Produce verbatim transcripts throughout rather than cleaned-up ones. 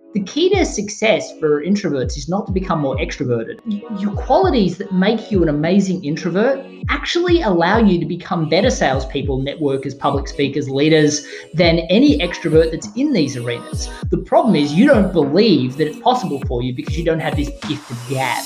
The key to success for introverts is not to become more extroverted. Your qualities that make you an amazing introvert actually allow you to become better salespeople, networkers, public speakers, leaders than any extrovert that's in these arenas. The problem is you don't believe that it's possible for you because you don't have this gift of gab.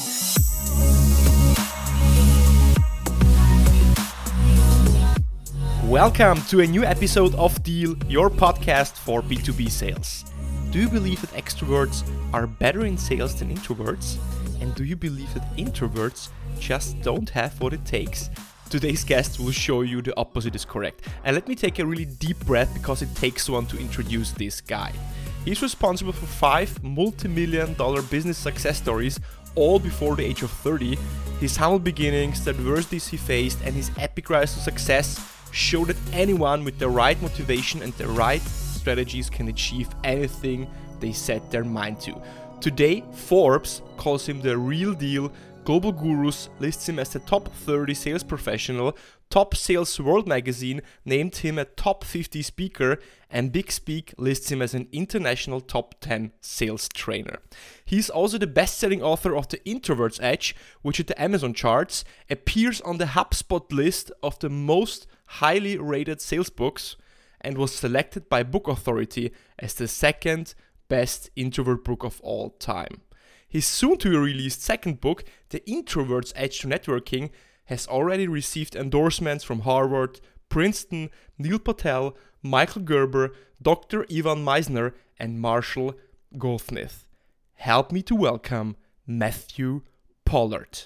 Welcome to a new episode of Deal, your podcast for B two B sales. Do you believe that extroverts are better in sales than introverts? And do you believe that introverts just don't have what it takes? Today's guest will show you the opposite is correct. And let me take a really deep breath because it takes one to introduce this guy. He's responsible for five multi-million dollar business success stories, all before the age of thirty. His humble beginnings, the adversities he faced, and his epic rise to success show that anyone with the right motivation and the right strategies can achieve anything they set their mind to. Today, Forbes calls him the real deal. Global Gurus lists him as the top thirty sales professional. Top Sales World magazine named him a top fifty speaker, and Big Speak lists him as an international top ten sales trainer. He's also the best-selling author of The Introvert's Edge, which at the Amazon charts appears on the HubSpot list of the most highly rated sales books, and was selected by Book Authority as the second best introvert book of all time. His soon-to-be-released second book, The Introvert's Edge to Networking, has already received endorsements from Harvard, Princeton, Neil Patel, Michael Gerber, Doctor Ivan Misner, and Marshall Goldsmith. Help me to welcome Matthew Pollard.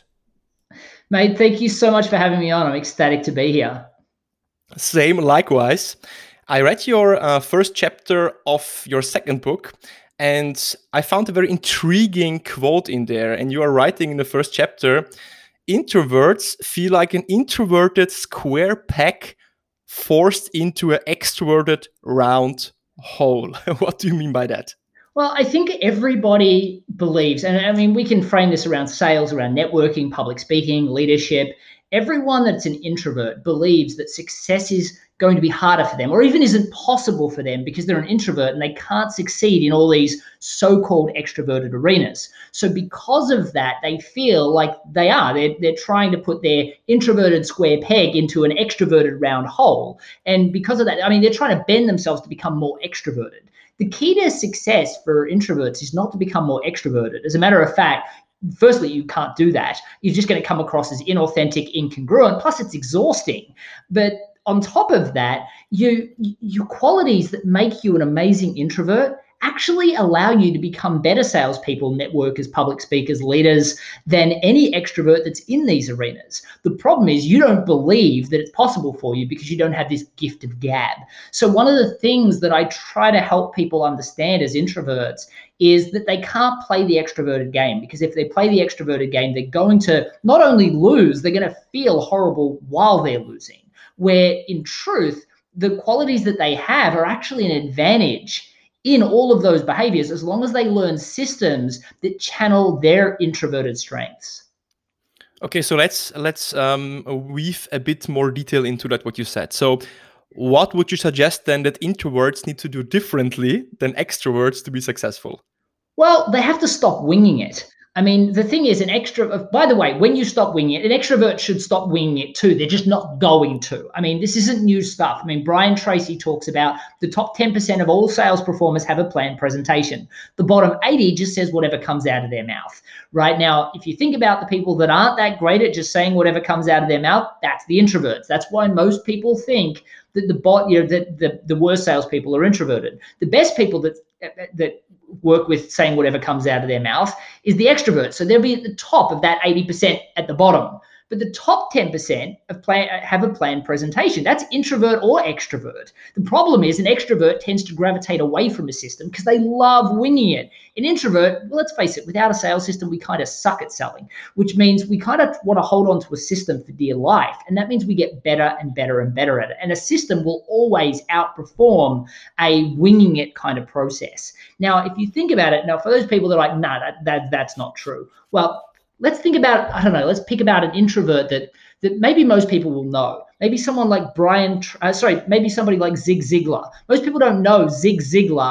Mate, thank you so much for having me on. I'm ecstatic to be here. Same, likewise. I read your uh, first chapter of your second book, and I found a very intriguing quote in there. And you are writing in the first chapter, introverts feel like an introverted square peg forced into an extroverted round hole. What do you mean by that? Well, I think everybody believes, and I mean, we can frame this around sales, around networking, public speaking, leadership. Everyone that's an introvert believes that success is going to be harder for them, or even isn't possible for them because they're an introvert and they can't succeed in all these so-called extroverted arenas. So because of that, they feel like they are. They're, they're trying to put their introverted square peg into an extroverted round hole. And because of that, I mean, they're trying to bend themselves to become more extroverted. The key to success for introverts is not to become more extroverted. As a matter of fact, firstly, you can't do that. You're just going to come across as inauthentic, incongruent, plus it's exhausting. But on top of that, you, your qualities that make you an amazing introvert actually allow you to become better salespeople, networkers, public speakers, leaders than any extrovert that's in these arenas. The problem is you don't believe that it's possible for you because you don't have this gift of gab. So one of the things that I try to help people understand as introverts is that they can't play the extroverted game, because if they play the extroverted game, they're going to not only lose, they're going to feel horrible while they're losing. Where in truth, the qualities that they have are actually an advantage in all of those behaviors, as long as they learn systems that channel their introverted strengths. Okay, so let's let's um, weave a bit more detail into that, what you said. So what would you suggest then that introverts need to do differently than extroverts to be successful? Well, they have to stop winging it. I mean, the thing is, an extrovert, by the way, when you stop winging it, an extrovert should stop winging it too. They're just not going to. I mean, this isn't new stuff. I mean, Brian Tracy talks about the top ten percent of all sales performers have a planned presentation. The bottom eighty just says whatever comes out of their mouth. Right now, if you think about the people that aren't that great at just saying whatever comes out of their mouth, that's the introverts. That's why most people think that the bot, you know, that the, the worst salespeople are introverted. The best people that that work with saying whatever comes out of their mouth is the extrovert. So they'll be at the top of that eighty percent at the bottom. But the top ten percent of plan, have a planned presentation. That's introvert or extrovert. The problem is an extrovert tends to gravitate away from a system because they love winging it. An introvert, well, let's face it, without a sales system, we kind of suck at selling, which means we kind of want to hold on to a system for dear life. And that means we get better and better and better at it. And a system will always outperform a winging it kind of process. Now, if you think about it, now for those people that are like, no, nah, that, that, that's not true. Well, let's think about, I don't know, let's pick about an introvert that that maybe most people will know. Maybe someone like Brian, uh, sorry, maybe somebody like Zig Ziglar. Most people don't know Zig Ziglar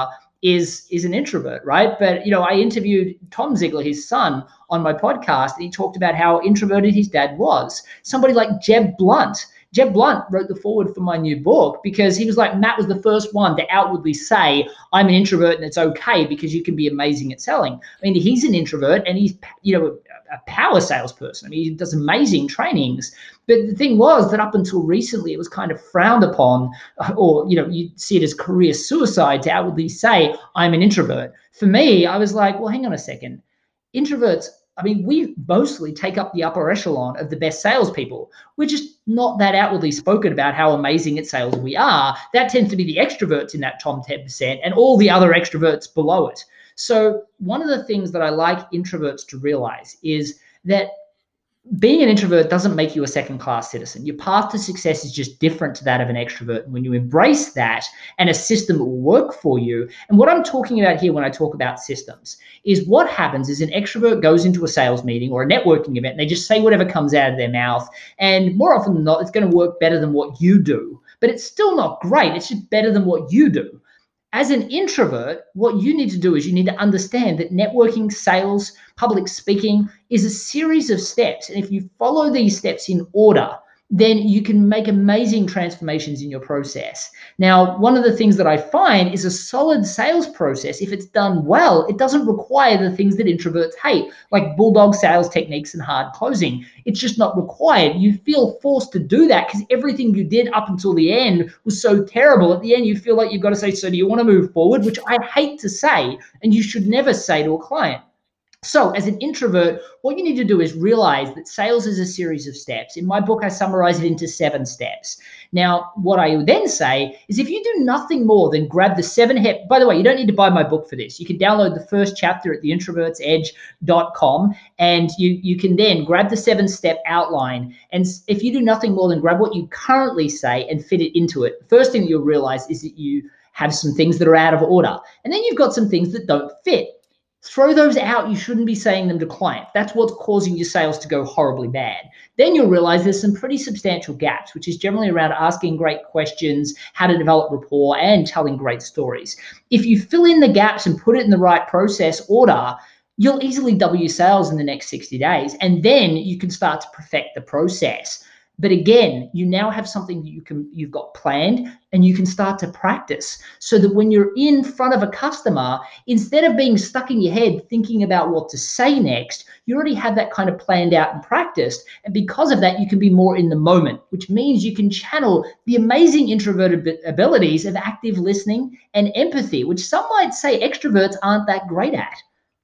is is an introvert, right? But, you know, I interviewed Tom Ziegler, his son, on my podcast, and he talked about how introverted his dad was. Somebody like Jeb Blunt. Jeb Blunt wrote the foreword for my new book because he was like, Matt was the first one to outwardly say, I'm an introvert and it's okay because you can be amazing at selling. I mean, he's an introvert and he's, you know, a power salesperson. I mean, he does amazing trainings. But the thing was that up until recently, it was kind of frowned upon, or, you know, you see it as career suicide to outwardly say, I'm an introvert. For me, I was like, well, hang on a second. Introverts, I mean, we mostly take up the upper echelon of the best salespeople. We're just not that outwardly spoken about how amazing at sales we are. That tends to be the extroverts in that top ten percent and all the other extroverts below it. So one of the things that I like introverts to realize is that being an introvert doesn't make you a second-class citizen. Your path to success is just different to that of an extrovert. And when you embrace that and a system will work for you, and what I'm talking about here when I talk about systems is what happens is an extrovert goes into a sales meeting or a networking event and they just say whatever comes out of their mouth. And more often than not, it's going to work better than what you do. But it's still not great. It's just better than what you do. As an introvert, what you need to do is you need to understand that networking, sales, public speaking is a series of steps. And if you follow these steps in order, then you can make amazing transformations in your process. Now, one of the things that I find is a solid sales process, if it's done well, it doesn't require the things that introverts hate, like bulldog sales techniques and hard closing. It's just not required. You feel forced to do that because everything you did up until the end was so terrible. At the end, you feel like you've got to say, so do you want to move forward? Which I hate to say, and you should never say to a client. So as an introvert, what you need to do is realize that sales is a series of steps. In my book, I summarize it into seven steps. Now, what I would then say is if you do nothing more than grab the seven hep, by the way, you don't need to buy my book for this. You can download the first chapter at the introverts edge dot com and you, you can then grab the seven step outline. And if you do nothing more than grab what you currently say and fit it into it, the first thing that you'll realize is that you have some things that are out of order. And then you've got some things that don't fit. Throw those out. You shouldn't be saying them to clients. That's what's causing your sales to go horribly bad. Then you'll realize there's some pretty substantial gaps, which is generally around asking great questions, how to develop rapport, and telling great stories. If you fill in the gaps and put it in the right process order, you'll easily double your sales in the next sixty days. And then you can start to perfect the process. But again, you now have something that you can, you've got planned and you can start to practice so that when you're in front of a customer, instead of being stuck in your head thinking about what to say next, you already have that kind of planned out and practiced. And because of that, you can be more in the moment, which means you can channel the amazing introverted abilities of active listening and empathy, which some might say extroverts aren't that great at.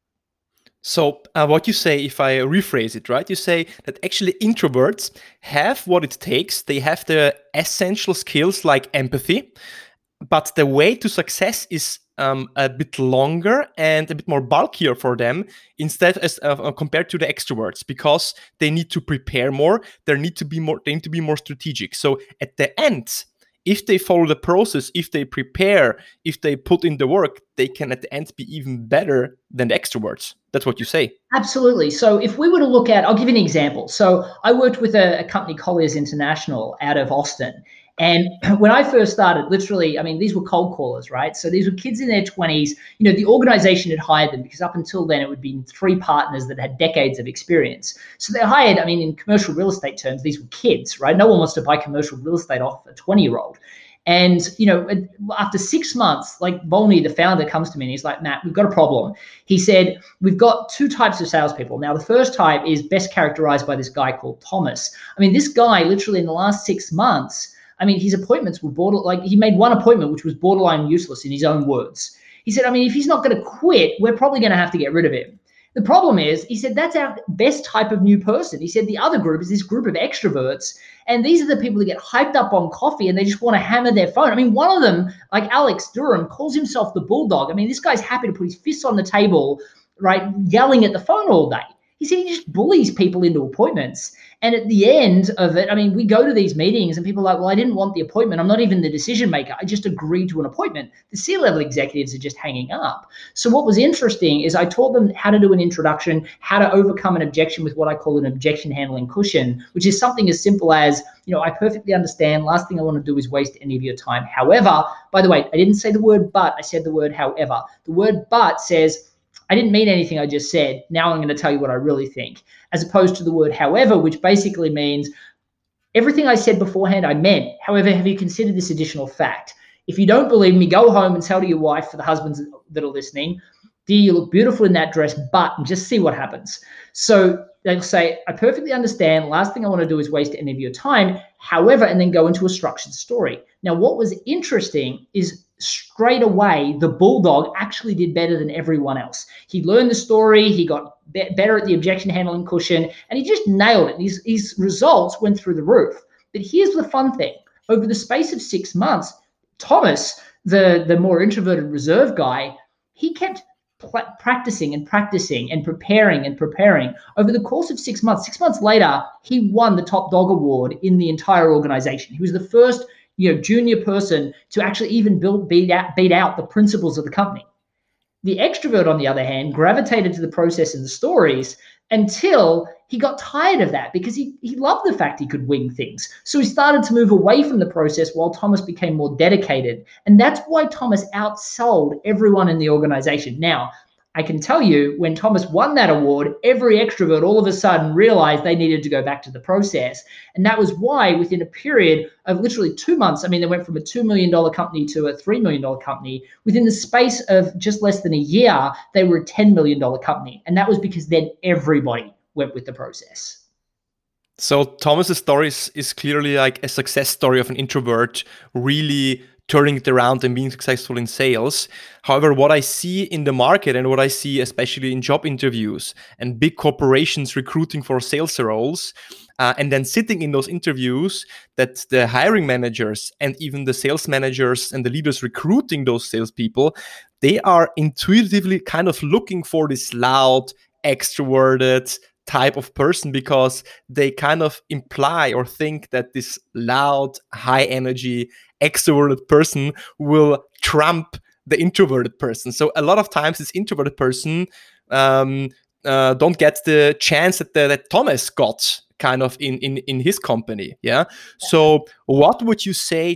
So uh, what you say, if I rephrase it, right? You say that actually introverts have what it takes. They have the essential skills like empathy, but the way to success is um, a bit longer and a bit more bulkier for them instead as uh, compared to the extroverts, because they need to prepare more. They need to be more. They need to be more strategic. So at the end, if they follow the process, if they prepare, if they put in the work, they can at the end be even better than the extroverts. That's what you say. Absolutely. So if we were to look at, I'll give you an example. So I worked with a, a company, Colliers International, out of Austin. And when I first started, literally, I mean, these were cold callers, right? So these were kids in their twenties. You know, the organization had hired them because up until then, it would be three partners that had decades of experience. So they hired, I mean, in commercial real estate terms, these were kids, right? No one wants to buy commercial real estate off a twenty-year-old. And, you know, after six months, like Volney, the founder, comes to me and he's like, Matt, we've got a problem. He said, we've got two types of salespeople. Now, the first type is best characterized by this guy called Thomas. I mean, this guy literally in the last six months, I mean, his appointments were border, like he made one appointment, which was borderline useless in his own words. He said, I mean, if he's not going to quit, we're probably going to have to get rid of him. The problem is, he said, that's our best type of new person. He said, the other group is this group of extroverts. And these are the people that get hyped up on coffee and they just want to hammer their phone. I mean, one of them, like Alex Durham, calls himself the bulldog. I mean, this guy's happy to put his fists on the table, right, yelling at the phone all day. He said he just bullies people into appointments. And at the end of it, I mean, we go to these meetings and people are like, well, I didn't want the appointment. I'm not even the decision maker. I just agreed to an appointment. The C-level executives are just hanging up. So what was interesting is I taught them how to do an introduction, how to overcome an objection with what I call an objection handling cushion, which is something as simple as, you know, I perfectly understand. Last thing I want to do is waste any of your time. However, by the way, I didn't say the word but, I said the word however. The word but says, I didn't mean anything I just said. Now I'm going to tell you what I really think, as opposed to the word however, which basically means everything I said beforehand, I meant. However, have you considered this additional fact? If you don't believe me, go home and tell to your wife, for the husbands that are listening, dear, you look beautiful in that dress, but, and just see what happens. So they'll say, I perfectly understand. Last thing I want to do is waste any of your time. However, and then go into a structured story. Now, what was interesting is straight away, the bulldog actually did better than everyone else. He learned the story. He got be- better at the objection handling cushion, and he just nailed it. His, his results went through the roof. But here's the fun thing. Over the space of six months, Thomas, the, the more introverted reserve guy, he kept pl- practicing and practicing and preparing and preparing. Over the course of six months, six months later, he won the top dog award in the entire organization. He was the first you know, junior person to actually even build, beat out, beat out the principals of the company. The extrovert, on the other hand, gravitated to the process and the stories until he got tired of that because he, he loved the fact he could wing things. So he started to move away from the process while Thomas became more dedicated. And that's why Thomas outsold everyone in the organization. Now, I can tell you, when Thomas won that award, every extrovert all of a sudden realized they needed to go back to the process. And that was why within a period of literally two months, I mean, they went from a two million dollars company to a three million dollars company. Within the space of just less than a year, they were a ten million dollars company. And that was because then everybody went with the process. So Thomas's story is, is clearly like a success story of an introvert really turning it around and being successful in sales. However, what I see in the market and what I see especially in job interviews and big corporations recruiting for sales roles, uh, and then sitting in those interviews, that the hiring managers and even the sales managers and the leaders recruiting those salespeople, they are intuitively kind of looking for this loud, extroverted type of person because they kind of imply or think that this loud, high energy, extroverted person will trump the introverted person. So a lot of times this introverted person um, uh, don't get the chance that, the, that Thomas got kind of in, in, in his company. Yeah. So what would you say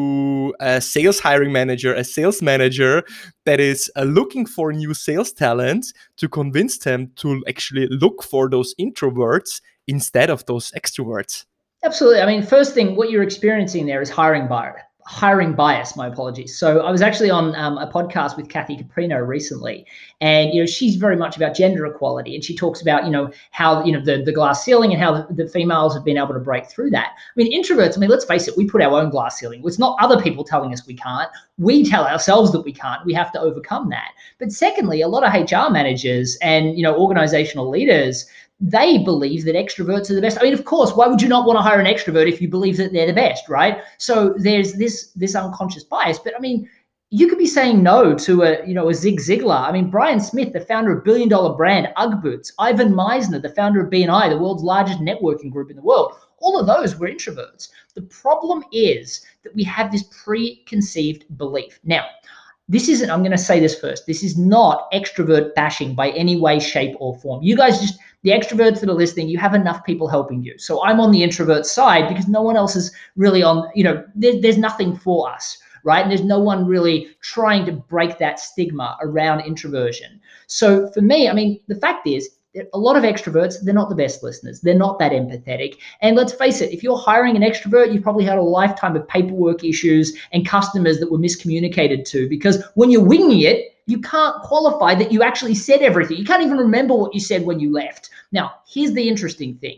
to a sales hiring manager, a sales manager that is uh, looking for new sales talent to convince them to actually look for those introverts instead of those extroverts? Absolutely. I mean, first thing, what you're experiencing there is hiring bias. Hiring bias, my apologies. So I was actually on um, a podcast with Kathy Caprino recently, and you know she's very much about gender equality, and she talks about you know how you know the, the glass ceiling and how the, the females have been able to break through that. I mean, introverts. I mean, let's face it, we put our own glass ceiling. It's not other people telling us we can't. We tell ourselves that we can't. We have to overcome that. But secondly, a lot of H R managers and you know organizational leaders, they believe that extroverts are the best. I mean, of course, why would you not want to hire an extrovert if you believe that they're the best, right? So there's this this unconscious bias. But I mean, you could be saying no to a, you know, a Zig Ziglar. I mean, Brian Smith, the founder of billion dollar brand Ugg Boots, Ivan Meisner, the founder of B N I, the world's largest networking group in the world. All of those were introverts. The problem is that we have this preconceived belief. Now, this isn't, I'm going to say this first, this is not extrovert bashing by any way, shape, or form. You guys just, the extroverts that are listening, you have enough people helping you. So I'm on the introvert side because no one else is really on, you know, there, there's nothing for us, right? And there's no one really trying to break that stigma around introversion. So for me, I mean, the fact is, a lot of extroverts, they're not the best listeners. They're not that empathetic. And let's face it, if you're hiring an extrovert, you've probably had a lifetime of paperwork issues and customers that were miscommunicated to, because when you're winging it, you can't qualify that you actually said everything. You can't even remember what you said when you left. Now, here's the interesting thing.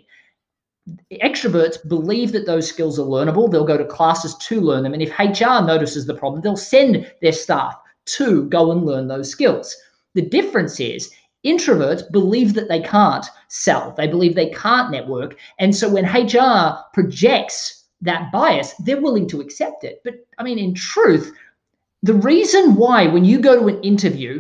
Extroverts believe that those skills are learnable. They'll go to classes to learn them. And if H R notices the problem, they'll send their staff to go and learn those skills. The difference is, introverts believe that they can't sell. They believe they can't network. And so when H R projects that bias, they're willing to accept it. But I mean, in truth, the reason why when you go to an interview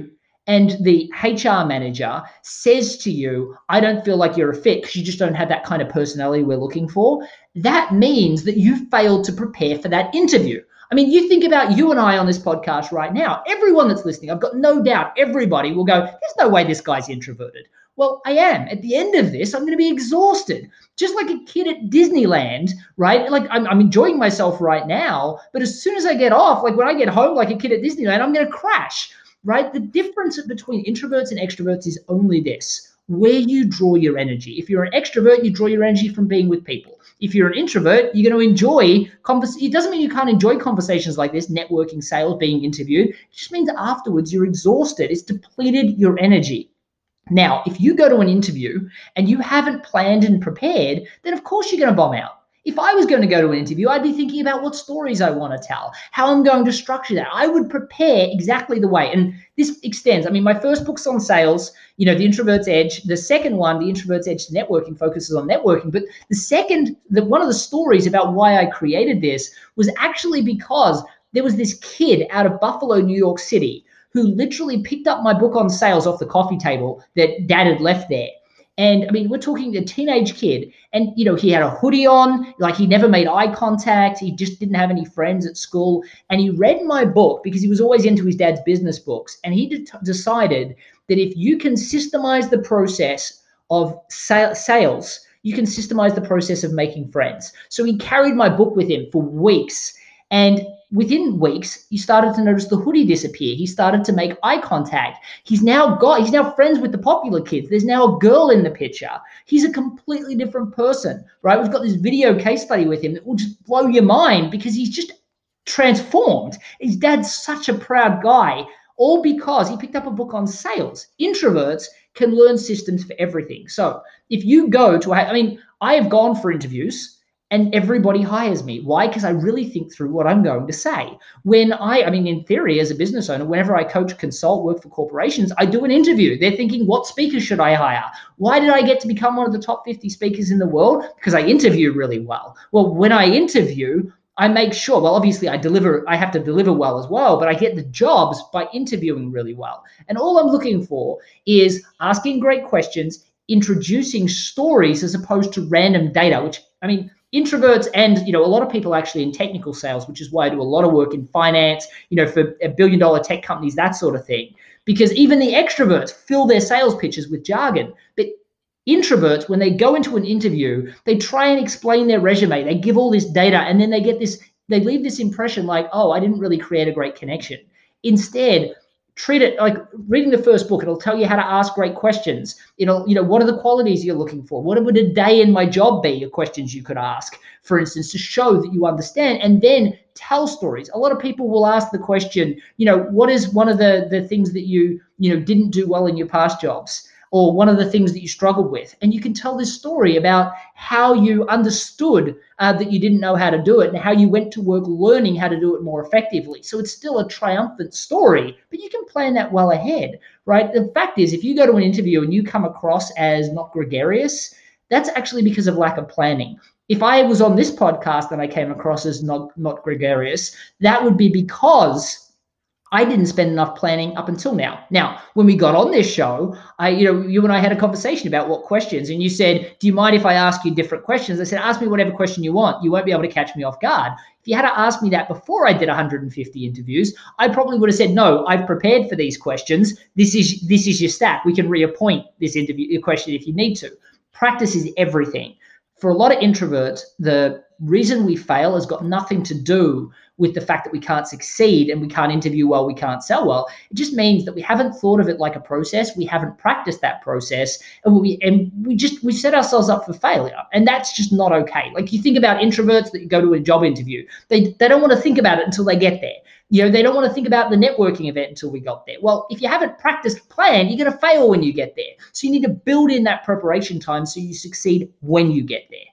and the H R manager says to you, I don't feel like you're a fit because you just don't have that kind of personality we're looking for, that means that you failed to prepare for that interview. I mean, you think about you and I on this podcast right now. Everyone that's listening, I've got no doubt everybody will go, there's no way this guy's introverted. Well, I am. At the end of this, I'm going to be exhausted. Just like a kid at Disneyland, right? Like I'm, I'm enjoying myself right now, but as soon as I get off, like when I get home like a kid at Disneyland, I'm going to crash, right? The difference between introverts and extroverts is only this: where you draw your energy. If you're an extrovert, you draw your energy from being with people. If you're an introvert, you're going to enjoy convers- It doesn't mean you can't enjoy conversations like this, networking, sales, being interviewed. It just means afterwards you're exhausted. It's depleted your energy. Now, if you go to an interview and you haven't planned and prepared, then of course you're going to bomb out. If I was going to go to an interview, I'd be thinking about what stories I want to tell, how I'm going to structure that. I would prepare exactly the way. And this extends. I mean, my first book's on sales, you know, The Introvert's Edge. The second one, The Introvert's Edge to Networking, focuses on networking. But the second, the, one of the stories about why I created this was actually because there was this kid out of Buffalo, New York City, who literally picked up my book on sales off the coffee table that dad had left there. And I mean, we're talking a teenage kid, and, you know, he had a hoodie on, like he never made eye contact. He just didn't have any friends at school. And he read my book because he was always into his dad's business books. And he de- decided that if you can systemize the process of sa- sales, you can systemize the process of making friends. So he carried my book with him for weeks. And within weeks, he started to notice the hoodie disappear. He started to make eye contact. He's now got, he's now friends with the popular kids. There's now a girl in the picture. He's a completely different person, right? We've got this video case study with him that will just blow your mind because he's just transformed. His dad's such a proud guy, all because he picked up a book on sales. Introverts can learn systems for everything. So if you go to, I mean, I have gone for interviews and everybody hires me. Why? Because I really think through what I'm going to say. When I, I mean, in theory, as a business owner, whenever I coach, consult, work for corporations, I do an interview. They're thinking, what speakers should I hire? Why did I get to become one of the top fifty speakers in the world? Because I interview really well. Well, when I interview, I make sure, well, obviously I deliver, I have to deliver well as well, but I get the jobs by interviewing really well. And all I'm looking for is asking great questions, introducing stories as opposed to random data, which, I mean, introverts and, you know, a lot of people actually in technical sales, which is why I do a lot of work in finance, you know, for a billion dollar tech companies, that sort of thing, because even the extroverts fill their sales pitches with jargon. But introverts, when they go into an interview, they try and explain their resume, they give all this data, and then they get this, they leave this impression like, oh, I didn't really create a great connection. Instead, treat it like reading the first book. It'll tell you how to ask great questions. It'll, you know, what are the qualities you're looking for? What would a day in my job be? Your questions you could ask, for instance, to show that you understand, and then tell stories. A lot of people will ask the question, you know, what is one of the, the things that you, you know, didn't do well in your past jobs? Or one of the things that you struggled with. And you can tell this story about how you understood uh, that you didn't know how to do it and how you went to work learning how to do it more effectively. So it's still a triumphant story, but you can plan that well ahead, right? The fact is, if you go to an interview and you come across as not gregarious, that's actually because of lack of planning. If I was on this podcast and I came across as not, not gregarious, that would be because I didn't spend enough planning up until now. Now, when we got on this show, I, you know, you and I had a conversation about what questions, and you said, do you mind if I ask you different questions? I said, ask me whatever question you want. You won't be able to catch me off guard. If you had to ask me that before I did one hundred fifty interviews, I probably would have said, no, I've prepared for these questions. This is, this is your stack. We can reappoint this interview question if you need to. Practice is everything. For a lot of introverts, the reason we fail has got nothing to do with the fact that we can't succeed and we can't interview well, we can't sell well. It just means that we haven't thought of it like a process. We haven't practiced that process, and we and we just we set ourselves up for failure, and that's just not okay. Like, you think about introverts that go to a job interview, they they don't want to think about it until they get there. You know, they don't want to think about the networking event until we got there. Well, if you haven't practiced plan, you're going to fail when you get there. So you need to build in that preparation time so you succeed when you get there.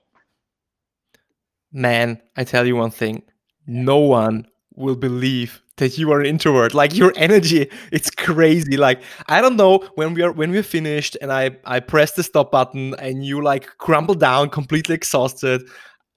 Man, I tell you one thing, no one will believe that you are an introvert. Like, your energy, it's crazy. Like, I don't know, when we are when we're finished and I I press the stop button and you like crumble down completely exhausted,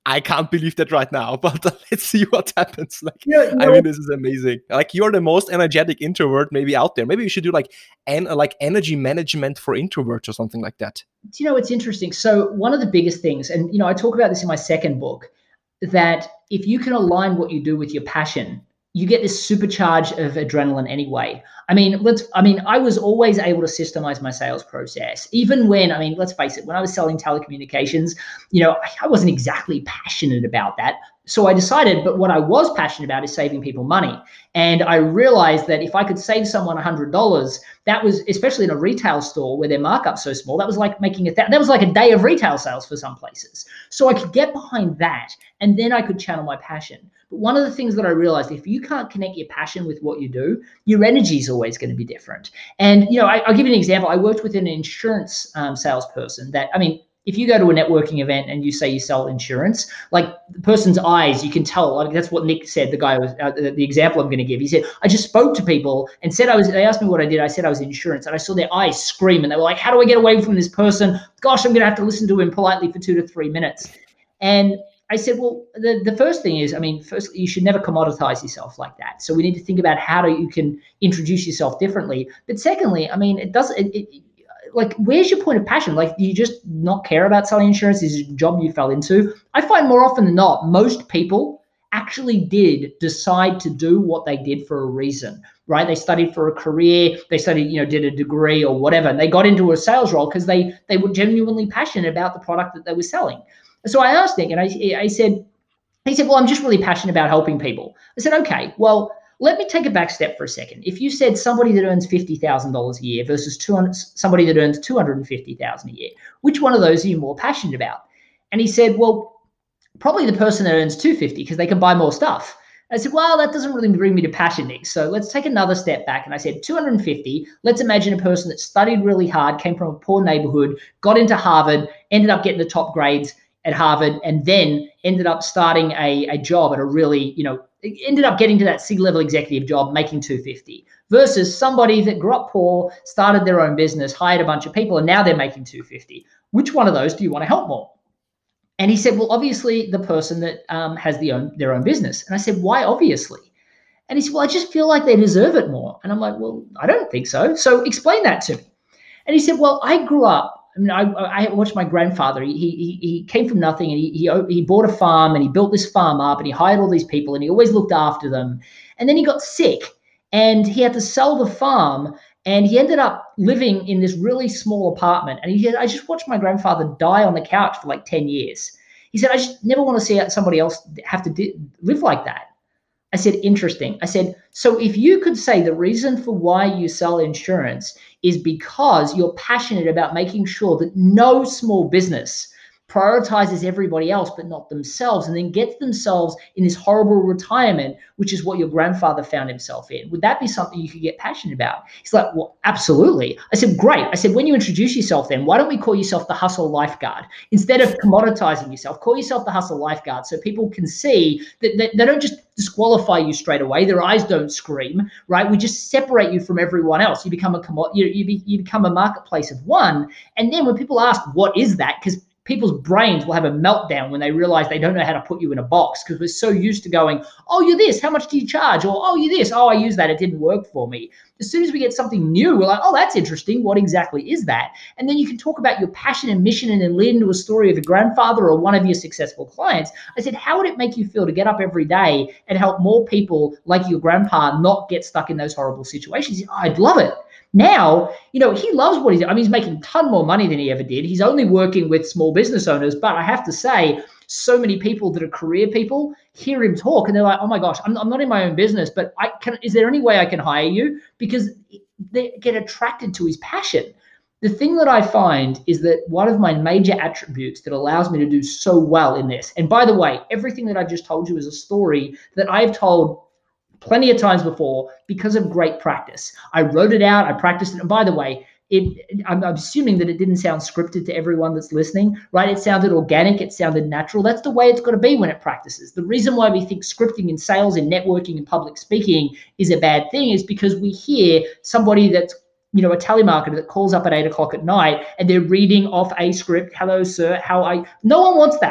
I can't believe that right now, but let's see what happens. Like, you know, you know, I mean, this is amazing. Like, you're the most energetic introvert maybe out there. Maybe you should do like en- like energy management for introverts or something like that. Do you know, it's interesting. So one of the biggest things, and you know, I talk about this in my second book, that if you can align what you do with your passion, you get this supercharge of adrenaline anyway. I mean, let's, I mean, I was always able to systemize my sales process, even when, I mean, let's face it, when I was selling telecommunications, you know, I wasn't exactly passionate about that. So I decided, but what I was passionate about is saving people money. And I realized that if I could save someone one hundred dollars, that was, especially in a retail store where their markup's so small, that was like making a, th- that was like a day of retail sales for some places. So I could get behind that, and then I could channel my passion. But one of the things that I realized, if you can't connect your passion with what you do, your energy is always going to be different. And, you know, I, I'll give you an example. I worked with an insurance um, salesperson that, I mean, if you go to a networking event and you say you sell insurance, like the person's eyes, you can tell. Like that's what Nick said. The guy was uh, the, the example I'm going to give. He said, I just spoke to people and said I was. They asked me what I did. I said I was insurance, and I saw their eyes scream, and they were like, "How do I get away from this person? Gosh, I'm going to have to listen to him politely for two to three minutes." And I said, well, the, the first thing is, I mean, firstly, you should never commoditize yourself like that. So we need to think about how do you can introduce yourself differently. But secondly, I mean, it doesn't. It, it, like, where's your point of passion? Like, do you just not care about selling insurance? Is it a job you fell into? I find more often than not, most people actually did decide to do what they did for a reason, right? They studied for a career, they studied, you know, did a degree or whatever, and they got into a sales role because they they were genuinely passionate about the product that they were selling. So I asked Nick, and I, I said, he said, well, I'm just really passionate about helping people. I said, okay, well, let me take a back step for a second. If you said somebody that earns fifty thousand dollars a year versus two hundred, somebody that earns two hundred fifty thousand dollars a year, which one of those are you more passionate about? And he said, well, probably the person that earns two hundred fifty because they can buy more stuff. I said, well, that doesn't really bring me to passion, Nick. So let's take another step back. And I said, two hundred fifty, let's imagine a person that studied really hard, came from a poor neighborhood, got into Harvard, ended up getting the top grades at Harvard, and then ended up starting a, a job at a really, you know, ended up getting to that C-level executive job, making two hundred fifty, versus somebody that grew up poor, started their own business, hired a bunch of people, and now they're making two hundred fifty. Which one of those do you want to help more? And he said, well, obviously the person that um, has the own, their own business. And I said, why obviously? And he said, well, I just feel like they deserve it more. And I'm like, well, I don't think so. So explain that to me. And he said, well, I grew up, I mean, I, I watched my grandfather. He, he he came from nothing, and he, he he bought a farm, and he built this farm up, and he hired all these people, and he always looked after them. And then he got sick, and he had to sell the farm, and he ended up living in this really small apartment. And he said, I just watched my grandfather die on the couch for like ten years. He said, I just never want to see somebody else have to di- live like that. I said, interesting. I said, so if you could say the reason for why you sell insurance is because you're passionate about making sure that no small business prioritizes everybody else but not themselves, and then gets themselves in this horrible retirement, which is what your grandfather found himself in, would that be something you could get passionate about? He's like, well, absolutely. I said, great. I said, when you introduce yourself then, why don't we call yourself the hustle lifeguard? Instead of commoditizing yourself, call yourself the hustle lifeguard, so people can see that, that they don't just disqualify you straight away. Their eyes don't scream, right? We just separate you from everyone else. You become a commod- you, you, be, you become a marketplace of one. And then when people ask, what is that? Because people's brains will have a meltdown when they realize they don't know how to put you in a box, because we're so used to going, oh, you're this, how much do you charge? Or, oh, you're this, oh, I use that, it didn't work for me. As soon as we get something new, we're like, oh, that's interesting. What exactly is that? And then you can talk about your passion and mission, and then lead into a story of a grandfather or one of your successful clients. I said, how would it make you feel to get up every day and help more people like your grandpa not get stuck in those horrible situations? Oh, I'd love it. Now, you know, he loves what he's doing. I mean, he's making a ton more money than he ever did. He's only working with small business owners, but I have to say, so many people that are career people hear him talk and they're like, oh my gosh, I'm, I'm not in my own business, but I can, is there any way I can hire you? Because they get attracted to his passion. The thing that I find is that one of my major attributes that allows me to do so well in this, and by the way, everything that I just told you is a story that I've told plenty of times before because of great practice. I wrote it out, I practiced it. And by the way, it, I'm, I'm assuming that it didn't sound scripted to everyone that's listening, right? It sounded organic, it sounded natural. That's the way it's got to be when it practices. The reason why we think scripting in sales and networking and public speaking is a bad thing is because we hear somebody that's, you know, a telemarketer that calls up at eight o'clock at night and they're reading off a script. Hello, sir, how I, no one wants that.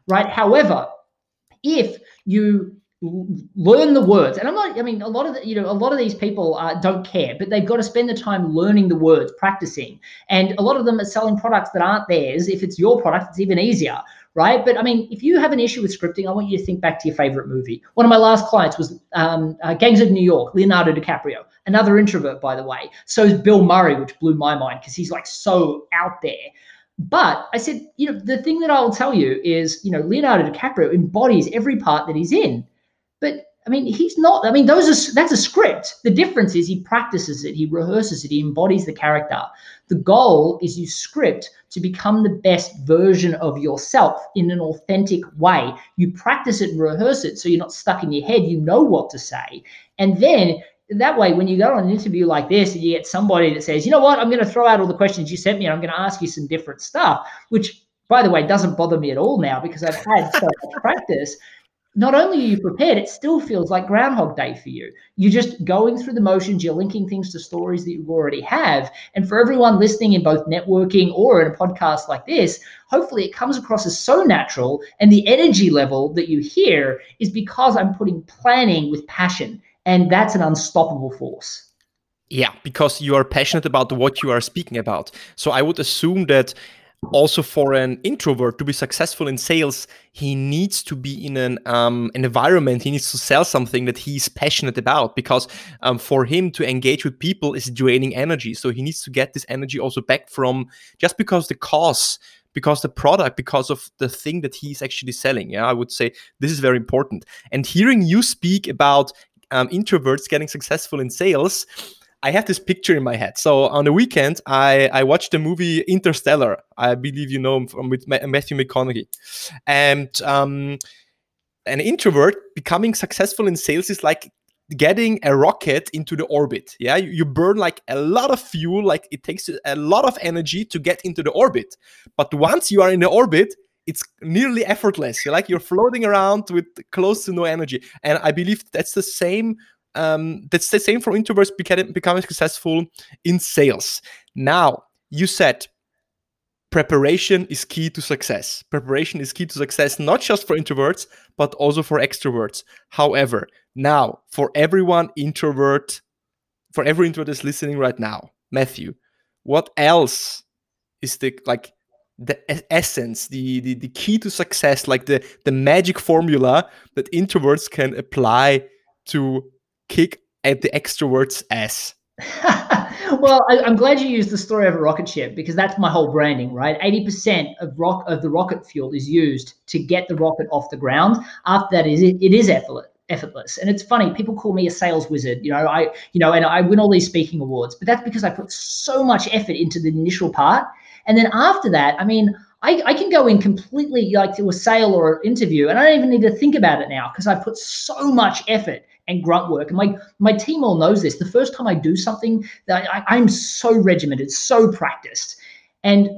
right? However, if you learn the words, and I'm not, I mean, a lot of the, you know, a lot of these people uh, don't care, but they've got to spend the time learning the words, practicing. And a lot of them are selling products that aren't theirs. If it's your product, it's even easier, right? But I mean, if you have an issue with scripting, I want you to think back to your favorite movie. One of my last clients was um, uh, Gangs of New York, Leonardo DiCaprio, another introvert, by the way. So is Bill Murray, which blew my mind because he's like so out there. But I said, you know, the thing that I'll tell you is, you know, Leonardo DiCaprio embodies every part that he's in. But I mean, he's not, I mean, those are, that's a script. The difference is he practices it, he rehearses it, he embodies the character. The goal is you script to become the best version of yourself in an authentic way. You practice it and rehearse it so you're not stuck in your head, you know what to say. And then that way, when you go on an interview like this and you get somebody that says, you know what, I'm going to throw out all the questions you sent me and I'm going to ask you some different stuff, which, by the way, doesn't bother me at all now because I've had so much practice. Not only are you prepared, it still feels like Groundhog Day for you. You're just going through the motions, you're linking things to stories that you already have. And for everyone listening in both networking or in a podcast like this, hopefully it comes across as so natural, and the energy level that you hear is because I'm putting planning with passion, and that's an unstoppable force. Yeah, because you are passionate about what you are speaking about. So I would assume that also for an introvert to be successful in sales, he needs to be in an, um, an environment, he needs to sell something that he's passionate about, because um, for him to engage with people is draining energy. So he needs to get this energy also back from, just because the cause, because the product, because of the thing that he's actually selling. Yeah, I would say this is very important. And hearing you speak about um, introverts getting successful in sales, I have this picture in my head. So on the weekend, I, I watched the movie Interstellar. I believe you know him from with Matthew McConaughey. And um, an introvert becoming successful in sales is like getting a rocket into the orbit. Yeah, you, you burn like a lot of fuel. Like it takes a lot of energy to get into the orbit. But once you are in the orbit, it's nearly effortless. You're like you're floating around with close to no energy. And I believe that's the same. Um, that's the same for introverts becoming, becoming successful in sales. Now, you said preparation is key to success. Preparation is key to success, not just for introverts, but also for extroverts. However, now, for everyone introvert, for every introvert that's listening right now, Matthew, what else is the, like, the essence, the, the, the key to success, like the, the magic formula that introverts can apply to kick at the extroverts' ass? Well, I, I'm glad you used the story of a rocket ship, because that's my whole branding, right? eighty percent of rock of the rocket fuel is used to get the rocket off the ground. After that, is it, it is effortless. effortless. And it's funny, people call me a sales wizard, you know, I, you know, and I win all these speaking awards, but that's because I put so much effort into the initial part. And then after that, I mean, I, I can go in completely like to a sale or an interview, and I don't even need to think about it now because I put so much effort and grunt work. And my, my team all knows this. The first time I do something, that I, I'm so regimented, so practiced. And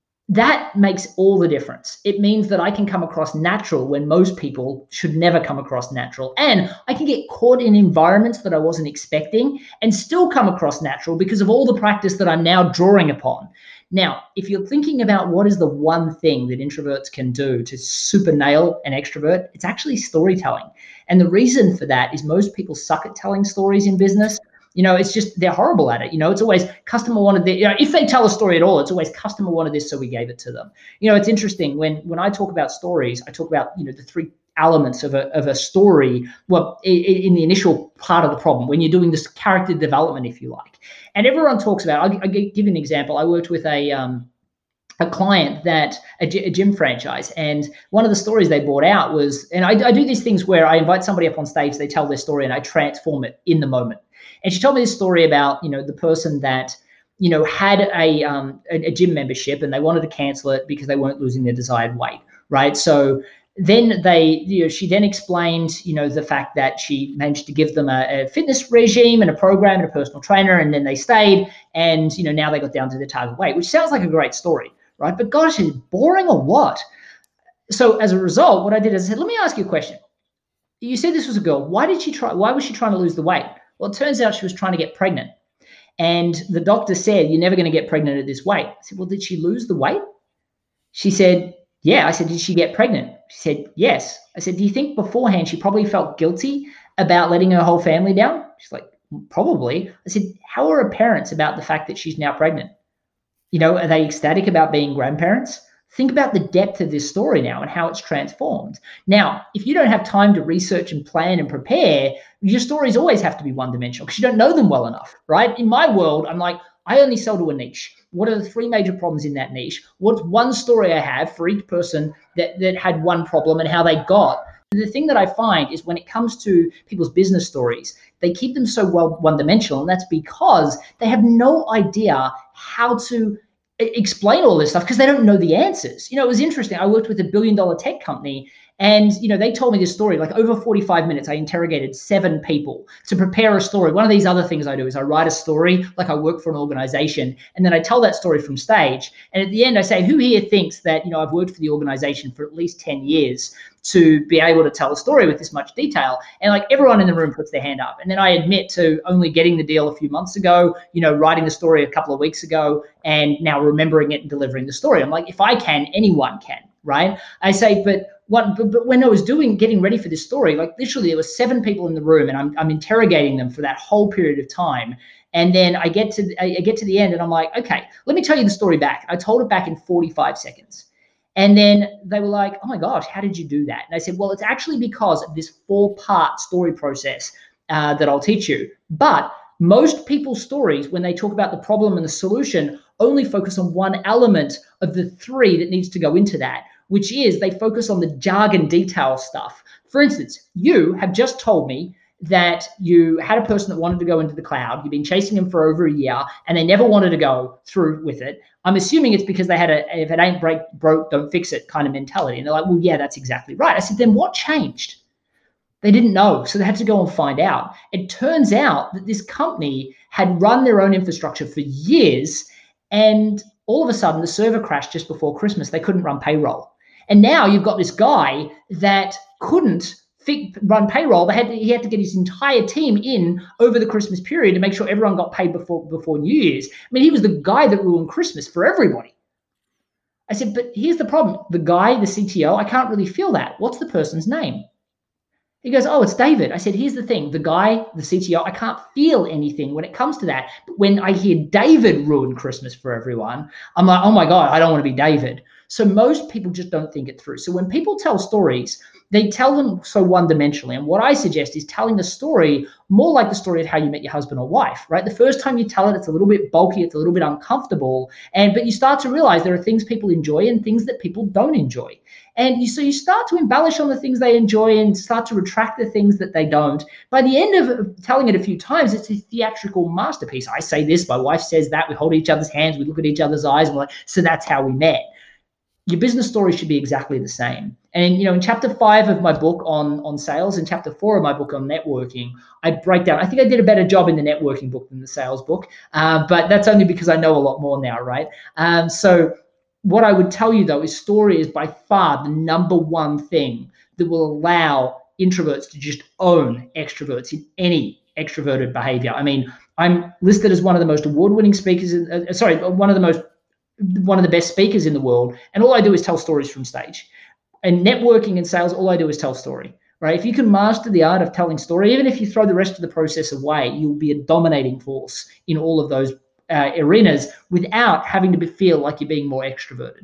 that makes all the difference. It means that I can come across natural when most people should never come across natural. And I can get caught in environments that I wasn't expecting and still come across natural because of all the practice that I'm now drawing upon. Now, if you're thinking about what is the one thing that introverts can do to super nail an extrovert, it's actually storytelling. And the reason for that is most people suck at telling stories in business. You know, it's just, they're horrible at it. You know, it's always customer wanted this. You know, if they tell a story at all, it's always customer wanted this, so we gave it to them. You know, it's interesting when, when I talk about stories, I talk about, you know, the three elements of a, of a story, well, in, in the initial part of the problem, when you're doing this character development, if you like. And everyone talks about, I'll, I'll give you an example. I worked with a, um, a client that a, a gym franchise, and one of the stories they brought out was, and I, I do these things where I invite somebody up on stage, they tell their story and I transform it in the moment. And she told me this story about, you know, the person that, you know, had a, um, a, a gym membership and they wanted to cancel it because they weren't losing their desired weight, right? So then they, you know, she then explained, you know, the fact that she managed to give them a, a fitness regime and a program and a personal trainer, and then they stayed, and, you know, now they got down to their target weight, which sounds like a great story, right? But gosh, is it boring or what? So as a result, what I did is I said, let me ask you a question. You said this was a girl. Why did she try? Why was she trying to lose the weight? Well, it turns out she was trying to get pregnant. And the doctor said, you're never going to get pregnant at this weight. I said, well, did she lose the weight? She said, yeah. I said, did she get pregnant? She said, yes. I said, do you think beforehand she probably felt guilty about letting her whole family down? She's like, probably. I said, how are her parents about the fact that she's now pregnant? You know, are they ecstatic about being grandparents? Think about the depth of this story now and how it's transformed. Now, if you don't have time to research and plan and prepare, your stories always have to be one-dimensional because you don't know them well enough, right? In my world, I'm like, I only sell to a niche. What are the three major problems in that niche? What's one story I have for each person that, that had one problem and how they got? The thing that I find is when it comes to people's business stories, they keep them so well one-dimensional, and that's because they have no idea how to explain all this stuff because they don't know the answers. You know, it was interesting. I worked with a billion dollar tech company, and, you know, they told me this story, like over forty-five minutes, I interrogated seven people to prepare a story. One of these other things I do is I write a story, like I work for an organization, and then I tell that story from stage. And at the end I say, who here thinks that, you know, I've worked for the organization for at least ten years to be able to tell a story with this much detail? And like everyone in the room puts their hand up. And then I admit to only getting the deal a few months ago, you know, writing the story a couple of weeks ago, and now remembering it and delivering the story. I'm like, if I can, anyone can, right? I say, but what, but, but when I was doing, getting ready for this story, like literally there were seven people in the room, and I'm, I'm interrogating them for that whole period of time. And then I get to, I get to the end and I'm like, okay, let me tell you the story back. I told it back in forty-five seconds. And then they were like, oh my gosh, how did you do that? And I said, well, it's actually because of this four-part story process uh, that I'll teach you. But most people's stories, when they talk about the problem and the solution, only focus on one element of the three that needs to go into that, which is they focus on the jargon detail stuff. For instance, you have just told me that you had a person that wanted to go into the cloud. You've been chasing them for over a year and they never wanted to go through with it. I'm assuming it's because they had a, if it ain't break, broke, don't fix it kind of mentality. And they're like, well, yeah, that's exactly right. I said, then what changed? They didn't know. So they had to go and find out. It turns out that this company had run their own infrastructure for years, and all of a sudden the server crashed just before Christmas. They couldn't run payroll. And now you've got this guy that couldn't run payroll. They had to, he had to get his entire team in over the Christmas period to make sure everyone got paid before before New Year's. I mean, he was the guy that ruined Christmas for everybody. I said, but here's the problem. The guy, the C T O, I can't really feel that. What's the person's name? He goes, oh, it's David. I said, here's the thing. The guy, the C T O, I can't feel anything when it comes to that. But when I hear David ruin Christmas for everyone, I'm like, oh my God, I don't want to be David. So most people just don't think it through. So when people tell stories, they tell them so one-dimensionally. And what I suggest is telling the story more like the story of how you met your husband or wife, right? The first time you tell it, it's a little bit bulky, it's a little bit uncomfortable. And but you start to realize there are things people enjoy and things that people don't enjoy. And you, so you start to embellish on the things they enjoy and start to retract the things that they don't. By the end of telling it a few times, it's a theatrical masterpiece. I say this, my wife says that, we hold each other's hands, we look at each other's eyes, and we're like, so that's how we met. Your business story should be exactly the same. And, you know, in chapter five of my book on, on sales and chapter four of my book on networking, I break down, I think I did a better job in the networking book than the sales book, uh, but that's only because I know a lot more now, right? Um, so what I would tell you, though, is story is by far the number one thing that will allow introverts to just own extroverts in any extroverted behavior. I mean, I'm listed as one of the most award-winning speakers, in, uh, sorry, one of the most one of the best speakers in the world, and all I do is tell stories from stage. And networking and sales, all I do is tell story, right? If you can master the art of telling story, even if you throw the rest of the process away, you'll be a dominating force in all of those uh, arenas without having to be, feel like you're being more extroverted.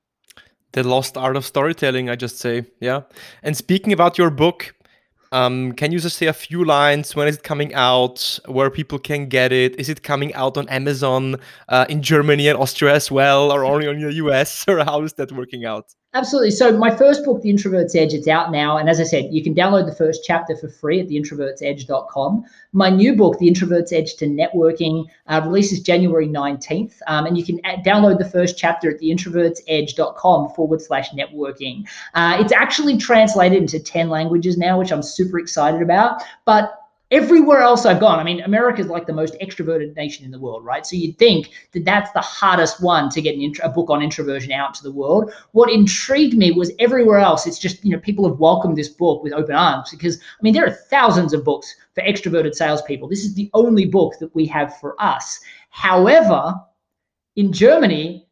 The lost art of storytelling, I just say, yeah. And speaking about your book, Um, can you just say a few lines? When is it coming out? Where people can get it? Is it coming out on Amazon uh, in Germany and Austria as well, or only on the U S? Or how is that working out? Absolutely. So my first book, The Introvert's Edge, it's out now. And as I said, you can download the first chapter for free at the introverts edge dot com. My new book, The Introvert's Edge to Networking, uh, releases January nineteenth. Um, and you can add, download the first chapter at the introverts edge dot com forward slash networking. Uh, it's actually translated into ten languages now, which I'm super excited about. But everywhere else I've gone, I mean, America is like the most extroverted nation in the world, right? So you'd think that that's the hardest one to get an intro, a book on introversion out to the world. What intrigued me was everywhere else, it's just, you know, people have welcomed this book with open arms because, I mean, there are thousands of books for extroverted salespeople. This is the only book that we have for us. However, in Germany,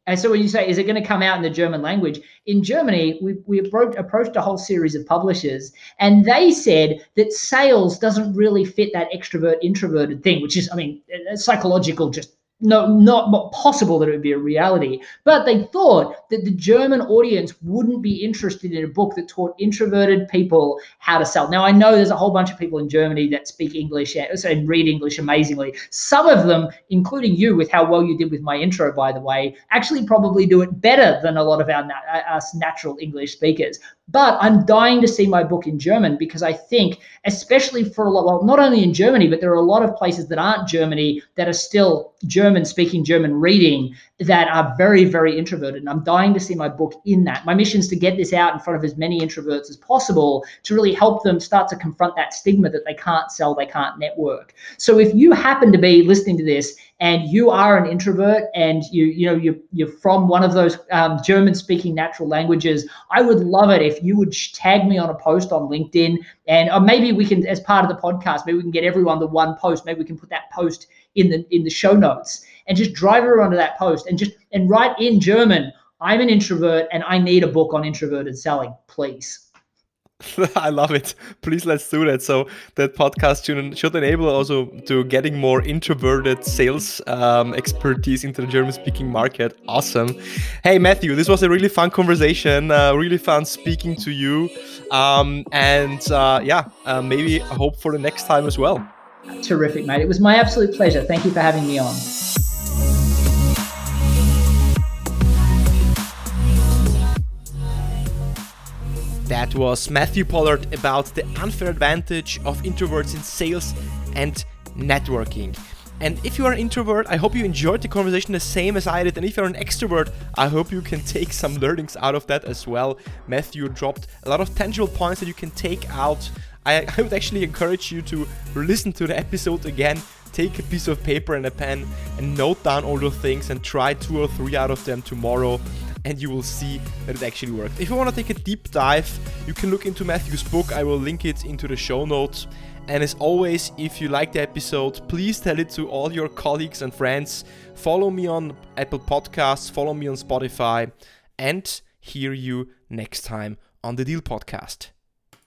And so when you say, is it going to come out in the German language? In Germany, we, we approached, approached a whole series of publishers, and they said that sales doesn't really fit that extrovert introverted thing, which is, I mean, psychological, just no, not possible that it would be a reality. But they thought that the German audience wouldn't be interested in a book that taught introverted people how to sell. Now, I know there's a whole bunch of people in Germany that speak English and read English amazingly. Some of them, including you with how well you did with my intro, by the way, actually probably do it better than a lot of our us natural English speakers. But I'm dying to see my book in German, because I think, especially for a lot, well, not only in Germany, but there are a lot of places that aren't Germany that are still German speaking, German reading, that are very, very introverted. And I'm dying to see my book in that. My mission is to get this out in front of as many introverts as possible to really help them start to confront that stigma that they can't sell, they can't network. So if you happen to be listening to this and you are an introvert and you, you know, you, you're from one of those um, German-speaking natural languages, I would love it if you would tag me on a post on LinkedIn, and or maybe we can, as part of the podcast, maybe we can get everyone the one post. Maybe we can put that post in the in the show notes and just drive everyone to that post and just and write in German, I'm an introvert and I need a book on introverted selling, please. I love it. Please, let's do that. So that podcast should, should enable also to getting more introverted sales um, expertise into the German-speaking market. Awesome. Hey, Matthew, this was a really fun conversation. Uh, really fun speaking to you. Um, and uh, yeah, uh, maybe I hope for the next time as well. Terrific, mate. It was my absolute pleasure. Thank you for having me on. That was Matthew Pollard about the unfair advantage of introverts in sales and networking. And if you are an introvert, I hope you enjoyed the conversation the same as I did. And if you're an extrovert, I hope you can take some learnings out of that as well. Matthew dropped a lot of tangible points that you can take out. I, I would actually encourage you to listen to the episode again, take a piece of paper and a pen and note down all those things and try two or three out of them tomorrow, and you will see that it actually worked. If you want to take a deep dive, you can look into Matthew's book. I will link it into the show notes. And as always, if you like the episode, please tell it to all your colleagues and friends. Follow me on Apple Podcasts, follow me on Spotify, and hear you next time on the Deal Podcast.